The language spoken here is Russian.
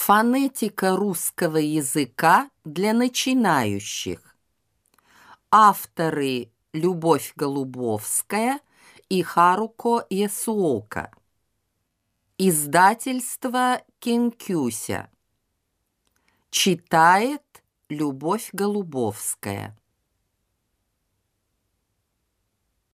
Фонетика русского языка для начинающих. Авторы Любовь Голубовская и Харуко Ясуока. Издательство Кинкюся. Читает Любовь Голубовская.